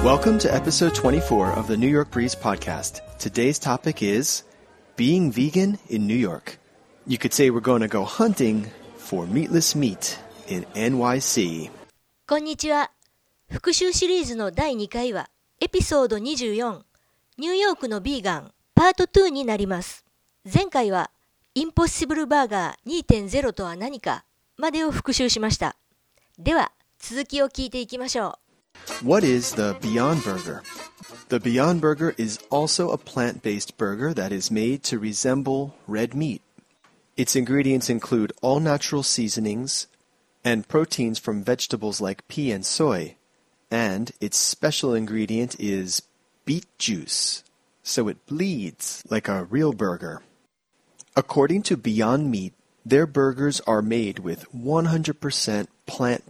Welcome to episode 24 of the New York Breeze podcast. Today's topic is being vegan in New York. You could say we're going to go hunting for meatless meat in NYC. こんにちは。復習シリーズの第2回はエピソード24ニューヨークのビーガンパート2になります。前回はインポッシブルバーガー 2.0 とは何かまでを復習しました。では続きを聞いていきましょう。 What is the Beyond Burger? The Beyond Burger is also a plant-based burger that is made to resemble red meat. Its ingredients include all-natural seasonings and proteins from vegetables like pea and soy, and its special ingredient is beet juice, so it bleeds like a real burger. According to Beyond Meat, their burgers are made with 100% plant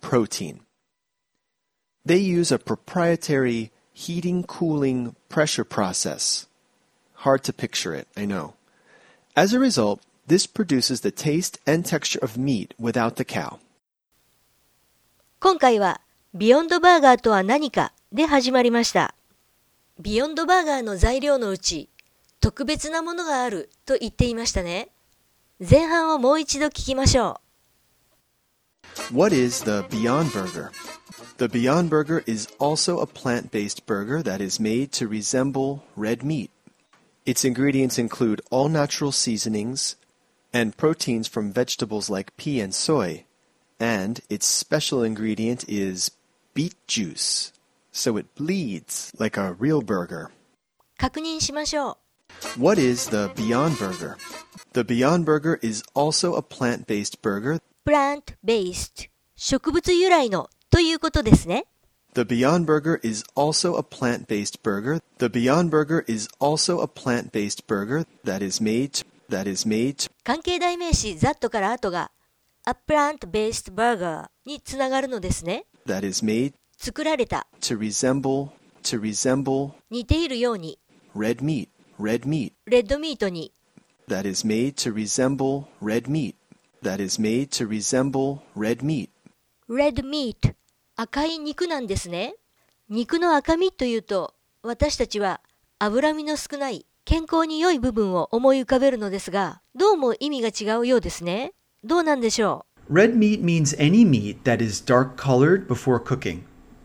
protein.They use a proprietary heating-cooling pressure process. Hard to picture it, I know. As a result, this produces the taste and texture of meat without the cow. 今回はビヨンドバーガーとは何かで始まりました。ビヨンドバーガーの材料のうち特別なものがあると言っていましたね。前半をもう一度聞きましょう。What is the Beyond Burger?The Beyond Burger is also a plant-based burger that is made to resemble red meat. Its ingredients include all-natural seasonings and proteins from vegetables like pea and soy, and its special ingredient is beet juice, so it bleeds like a real burger. 確認しましょう。What is the Beyond Burger? The Beyond Burger is also a plant-based burger. Plant-based 植物由来のということですね。 The Beyond Burger is also a plant-based burger. The Beyond Burger is also a plant-based burger that is made. 関係代名詞 that から後が a plant-based burger につながるのですね。 That is made. 作られた。 To resemble. 似ているように。 Red meat. レッドミートに。 That is made to resemble red meat. That is made to resemble red meat.Red meat 赤い肉なんですね。肉の赤身というと私たちは脂身の少ない健康に良い部分を思い浮かべるのですがどうも意味が違うようですね。どうなんでしょう。Red meat means any meat that is dark colored before cooking.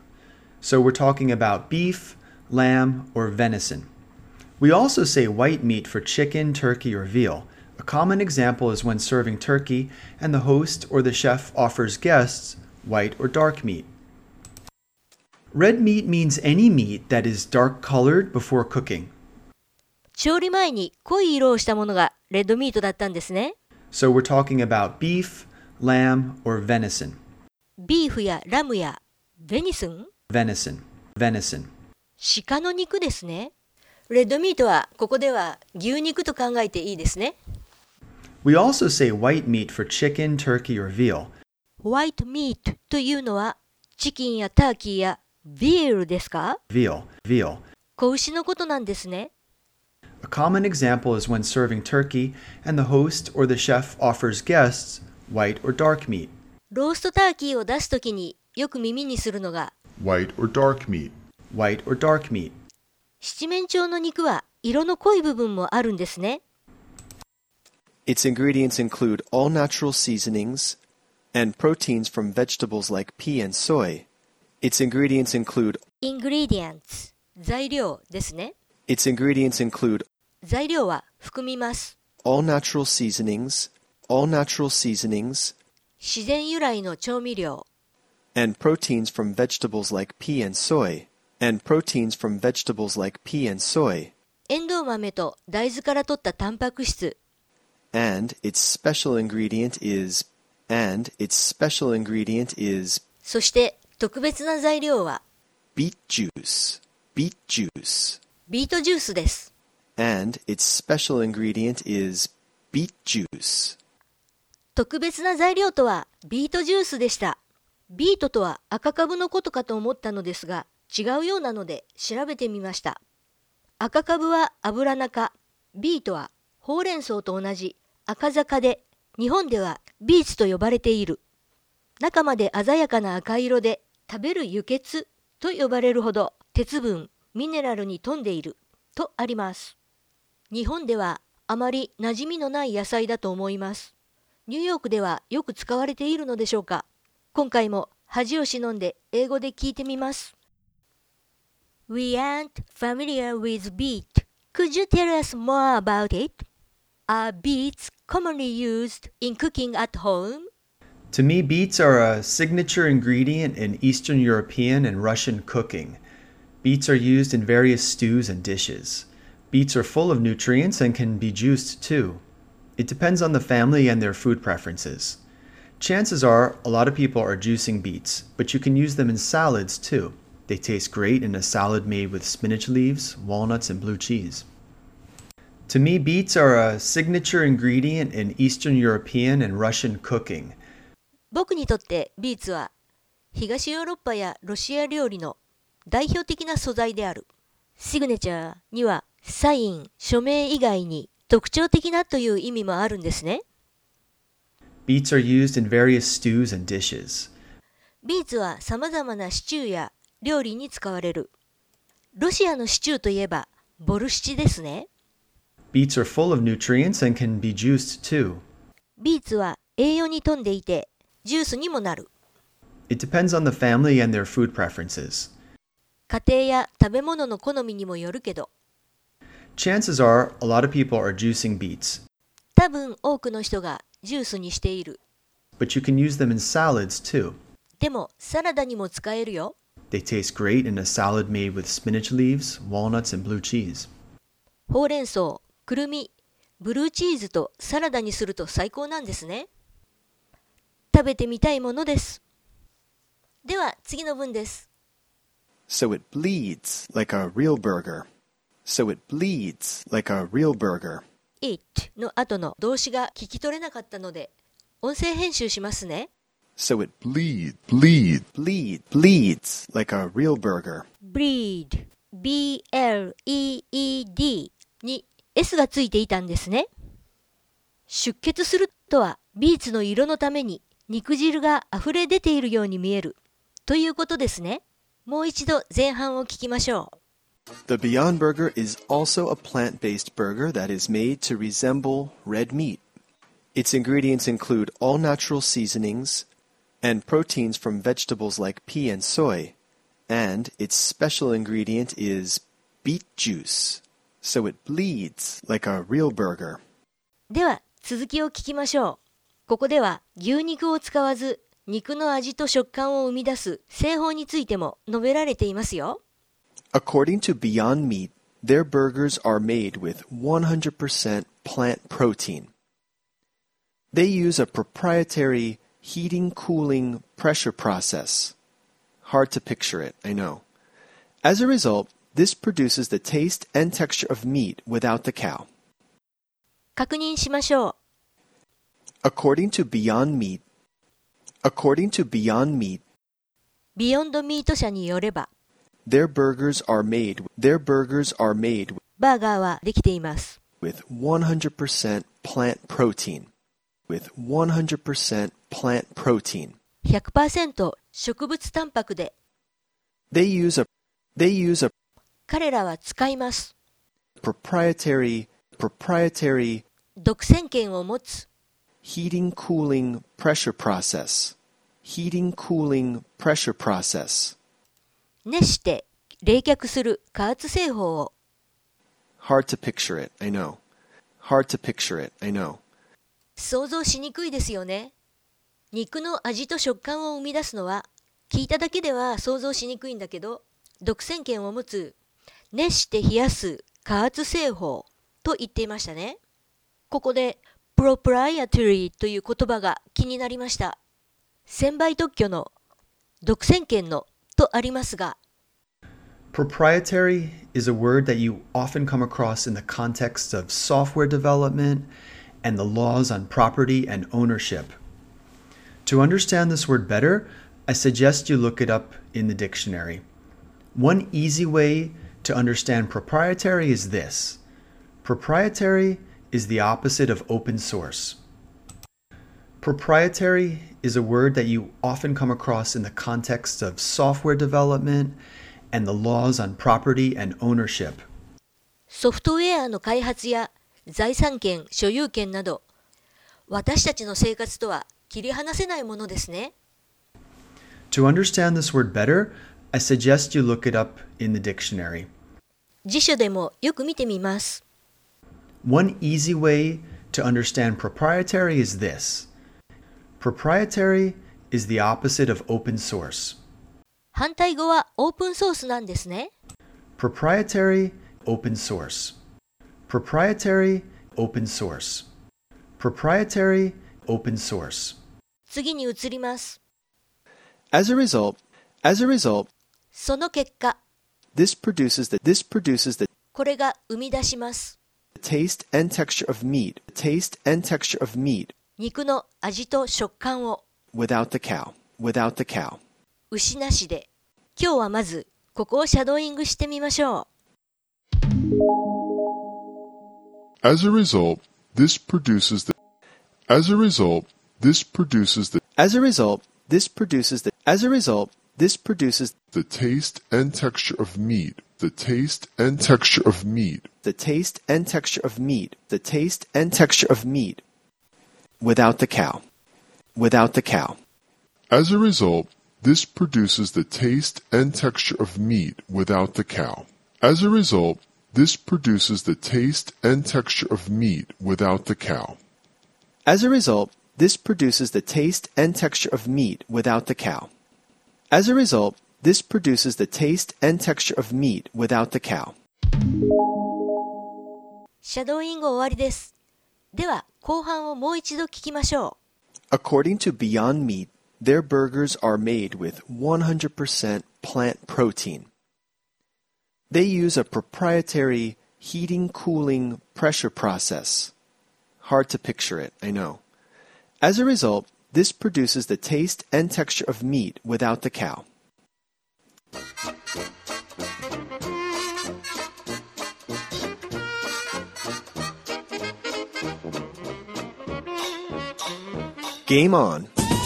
So we're talking about beef, lamb, or venison. We also say white meat for chicken, turkey, or veal.A common example is when serving turkey and the host or the chef offers guests white or dark meat. Red meat means any meat that is dark colored before cooking. 調理前に濃い色をしたものがレッドミートだったんですね。 So we're talking about beef, lamb, or venison. ビーフやラムやベニスン Venison. 鹿の肉ですね。レッドミートはここでは牛肉と考えていいですね。 We also say white meat for chicken, turkey, or veal. White meat というのはチキンやターキーやビールですか？ Veal. 子牛のことなんですね。 A common example is when serving turkey and the host or the chef offers guests white or dark meat. ローストターキーを出すときによく耳にするのが white or dark meat. 七面鳥の肉は色の濃い部分もあるんですね。 Its ingredients include all-natural seasonings and proteins from vegetables like pea and soy. Its ingredients include ingredients 材料ですね。 Its ingredients include 材料は含みます。 all-natural seasonings 自然由来の調味料 and proteins from vegetables like pea and soy. エンドウ豆と大豆から取ったタンパク質And its special ingredient is そして特別な材料は beet juice ビートジュースです。 And its special ingredient is beet juice 特別な材料とはビートジュースでした。ビートとは赤かぶのことかと思ったのですが違うようなので調べてみました。赤かぶは油中、ビートはほうれん草と同じ赤坂で日本ではビーツと呼ばれている。中まで鮮やかな赤色で食べる輸血と呼ばれるほど鉄分、ミネラルに富んでいるとあります。日本ではあまり馴染みのない野菜だと思います。ニューヨークではよく使われているのでしょうか。今回も恥を忍んで英語で聞いてみます。We aren't familiar with beet. Could you tell us more about it? Are beets commonly used in cooking at home? To me, beets are a signature ingredient in Eastern European and Russian cooking. Beets are used in various stews and dishes. Beets are full of nutrients and can be juiced too. It depends on the family and their food preferences. Chances are a lot of people are juicing beets, but you can use them in salads too. They taste great in a salad made with spinach leaves, walnuts, and blue cheese. To me, beets are a signature ingredient in Eastern European and Russian cooking. 僕にとってビーツは東ヨーロッパやロシア料理の代表的な素材である。シグネチャーにはサイン、署名以外に特徴的なという意味もあるんですね。 Beets are used in various stews and dishes. ビーツはさまざまなシチューや料理に使われる。ロシアのシチューといえばボルシチですね。 Beets are full of nutrients and can be juiced too. ビーツは栄養に富んでいてジュースにもなる。 It depends on the family and their food preferences. 家庭や食べ物の好みにもよるけど、 Chances are a lot of people are juicing beets, 多分多くの人がジュースにしている。 but you can use them in salads too. でもサラダにも使えるよ。 They taste great in a salad made with spinach leaves, walnuts, and blue cheese. ほうれん草、くるみ、ブルーチーズとサラダにすると最高なんですね。食べてみたいものです。では次の文です。 So it bleeds like a real burger. So it bleeds like a real burger. it の後の動詞が聞き取れなかったので、音声編集しますね。 So it bleeds like a real burger. bleed, B-L-E-E-D に S がついていたんですね。出血するとは、ビーツの色のために肉汁が溢れ出ているように見えるということですね。もう一度前半を聞きましょう。 The Beyond Burger is also a plant-based burger that is made to resemble red meat. Its ingredients include all-natural seasonings and proteins from vegetables like pea and soy, and its special ingredient is beet juice, so it bleeds like a real burger. では続きを聞きましょう。ここでは牛肉を使わず肉の味と食感を生み出す製法についても述べられていますよ。 According to Beyond Meat, their burgers are made with 100% plant protein. They use a proprietary heating, cooling, pressure process. Hard to picture it, I know. As a result, this produces the taste and texture of meat without the cow. 確認しましょう。 According to Beyond Meat, ビヨンドミート社によれば、 their burgers are made バーガーはできています。 with 100% plant protein. With 100% plant protein. 100% 植物タンパクで、 They use a 彼らは使います。 proprietary 独占権を持つ。 heating, cooling, pressure process. Heating, cooling, pressure process. 熱して冷却する加圧製法を。 Hard to picture it, I know. Hard to picture it, I know. 想像しにくいですよね。肉の味と食感を生み出すのは聞いただけでは想像しにくいんだけど、独占権を持つ熱して冷やす加圧製法と言っていましたね。ここでプロプライアトリーという言葉が気になりました。専売特許の独占権のとありますが、 Proprietary is a word that you often come across in the context of software development and ownership. To understand this word better, I suggest you look it up in the dictionary. One easy way to understand proprietary is the word that you often come across in the context of software development and ownership. and the laws on property and ownership. To understand this word better, I suggest you look it up in the dictionary. One easy way to understand proprietary is this. Proprietary is the opposite of open source. Proprietary is a word that you often come across in the context of software development and the laws on property and ownership. ソフトウェアの開発や財産権、所有権など、私たちの生活とは切り離せないものですね。 To understand this word better, I suggest you look it up in the dictionary. 辞書でもよく見てみます。 One easy way to understand proprietary is this. Proprietary is the opposite of open source. 反対語はオープンソースなんですね。 Proprietary, open source. Proprietary, open source. Proprietary, open source. 次に移ります。 As a result, その結果、 this produces the これが生み出します。 taste and texture of meat, taste and texture of meat 肉の味と食感を without the cow. 牛なしで。今日はまずここをシャドーイングしてみましょう。 As a result, this produces the As a result, this produces the the taste and texture of meat, the taste and texture of meat, the taste and texture of meat, the taste and texture of meat without the cow. As a result, this produces the taste and texture of meat without the cow. As a result, this produces the taste and texture of meat without the cow. As a result, this produces the taste and texture of meat without the cow. As a result, this produces the taste and texture of meat without the cow. シャドーイング終わりです。では後半をもう一度聞きましょう。 According to Beyond Meat, their burgers are made with 100% plant protein. They use a proprietary heating, cooling, pressure process. Hard to picture it, I know. As a result, this produces the taste and texture of meat without the cow. Game on.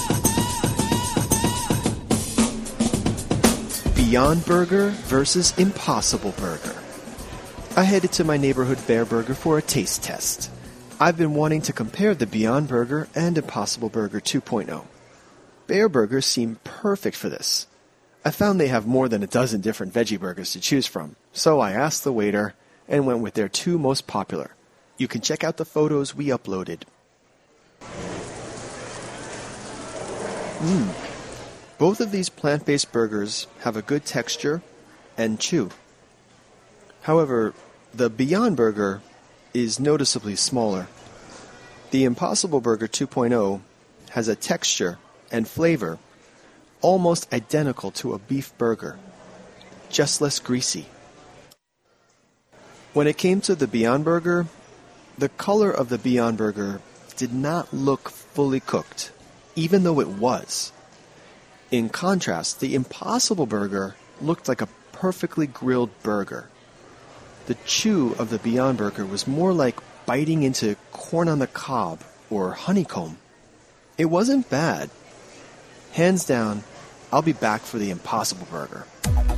Beyond Burger versus Impossible Burger. I headed to my neighborhood Bear Burger for a taste test. I've been wanting to compare the Beyond Burger and Impossible Burger 2.0. Bear Burgers seem perfect for this. I found they have more than a dozen different veggie burgers to choose from, so I asked the waiter and went with their two most popular. You can check out the photos we uploaded. Both of these plant-based burgers have a good texture and chew. However, the Beyond Burger is noticeably smaller. The Impossible Burger 2.0 has a texture and flavor almost identical to a beef burger, just less greasy. When it came to the Beyond Burger, the color of the Beyond Burger did not look fully cooked, even though it was. In contrast, the Impossible Burger looked like a perfectly grilled burger. The chew of the Beyond Burger was more like biting into corn on the cob or honeycomb. It wasn't bad. Hands down, I'll be back for the Impossible Burger.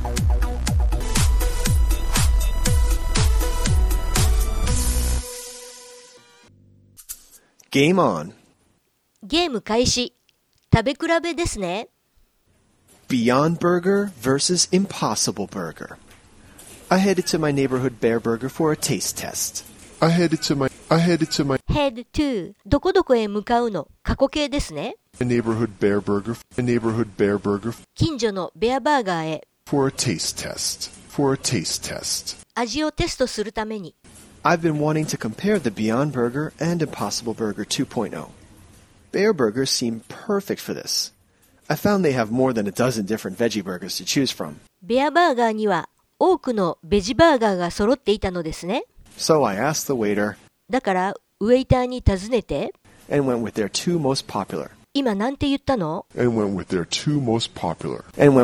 Game on. ゲーム開始。食べ比べですね。 Beyond Burger versus Impossible Burger. I headed to my neighborhood Bear Burger for a taste test. I headed to my head to どこどこへ向かうの過去形ですね。 neighborhood Bear Burger 近所のベアバーガーへ for a taste test. 味をテストするために。 I've been wanting to compare the Beyond Burger and Impossible Burger 2.0. Bear Burgers seem perfect for this. I found they have more than a dozen different veggie burgers to choose from. ベアバーガーには多くのベジバーガーが揃っていたのですね。 So I asked the waiter だからウェイターに尋ねて and went with their two most popular. 今なんて言ったの and went with their two most popular.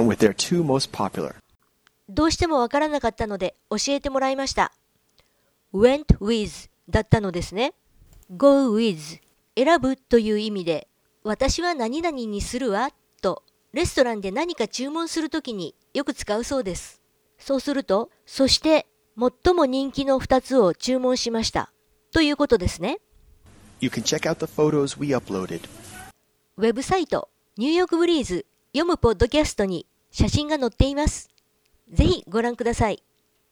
どうしてもわからなかったので教えてもらいました。went with だったのですね。go with 選ぶという意味で私は何々にするわとレストランで何か注文するときによく使うそうです。 そうすると、そして最も人気の2つを注文しました。ということですね。 You can check out the photos we uploaded. ウェブサイト、ニューヨークブリーズ読むポッドキャストに写真が載っています。ぜひご覧ください。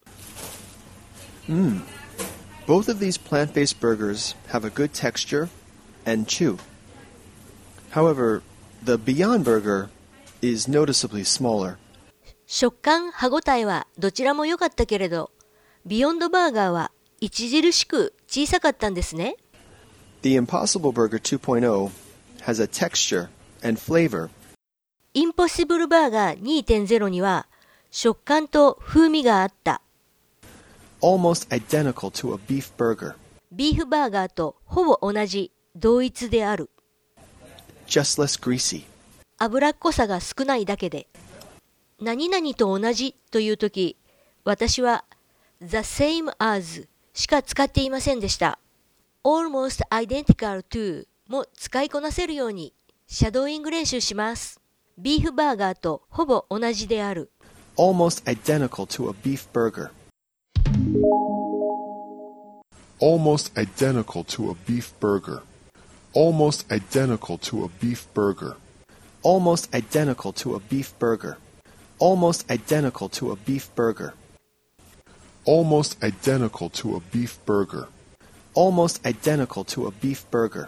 Both of these plant-based burgers have a good texture and chew. However, the Beyond Burger is noticeably smaller. 食感、歯ごたえはどちらも良かったけれど、ビヨンドバーガーは著しく小さかったんですね。 The Impossible Burger 2.0 has a texture and flavor. インポッシブルバーガー 2.0 には食感と風味があった。 Almost identical to a beef burger. ビーフバーガーとほぼ同じ、同一である。 Just less greasy. 脂っこさが少ないだけで。何々と同じというとき、私は the same as しか使っていませんでした。almost identical to も使いこなせるようにシャドーイング練習します。ビーフバーガーとほぼ同じである。 Almost identical to a beef burger. Almost identical to a beef burger. Almost identical to a beef burger. Almost identical to a beef burger. Almost identical to a beef burger. Almost identical to a beef burger. Almost identical to a beef burger.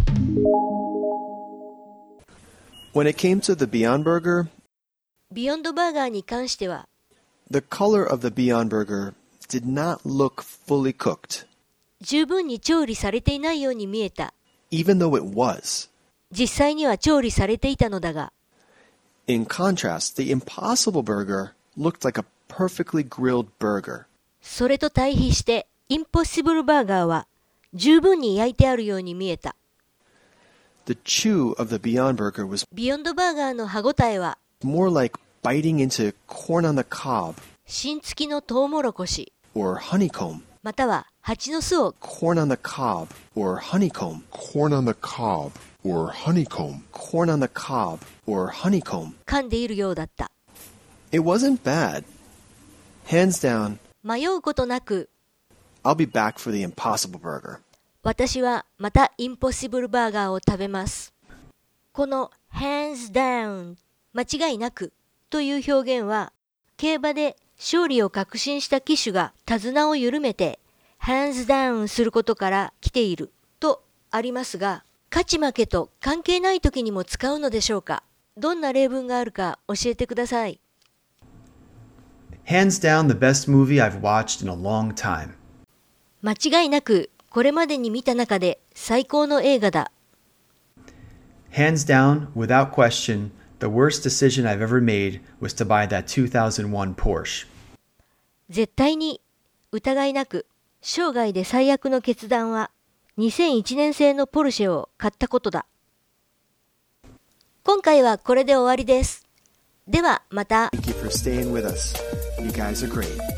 When it came to the Beyond Burger, ビヨンドバーガーに関しては、 the color of the Beyond Burger did not look fully cooked, 十分に調理されていないように見えた。 even though it was. 実際には調理されていたのだが、 In contrast, the Impossible Burger looked like a perfectly grilled burger. それと対比して、インポッシブルバーガーは十分に焼いてあるように見えた。 The chew of the Beyond Burger was ビヨンドバーガーの歯ごたえは、 more like biting into corn on the cob 芯付きのトウモロコシ、 or honeycomb. または蜂の巣を Corn on the cob or honeycomb. Corn on the cob or honeycomb. Corn on the cob or honeycomb. 噛んでいるようだった。 It wasn't bad. Hands down, 迷うことなく、 I'll be back for the Impossible Burger. 私はまたインポッシブルバーガーを食べます。この hands down 間違いなくという表現は、競馬で勝利を確信した騎手が手綱を緩めて hands down することから来ているとありますが、勝ち負けと関係ない時にも使うのでしょうか。どんな例文があるか教えてください。 Hands down the best movie I've watched in a long time. 間違いなくこれまでに見た中で最高の映画だ。 Hands down, without question, the worst decision I've ever made was to buy that 2001 Porsche. 絶対に疑いなく生涯で最悪の決断は2001年製のポルシェを買ったことだ。今回はこれで終わりです。ではまた。 Thank you for staying with us. You guys are great.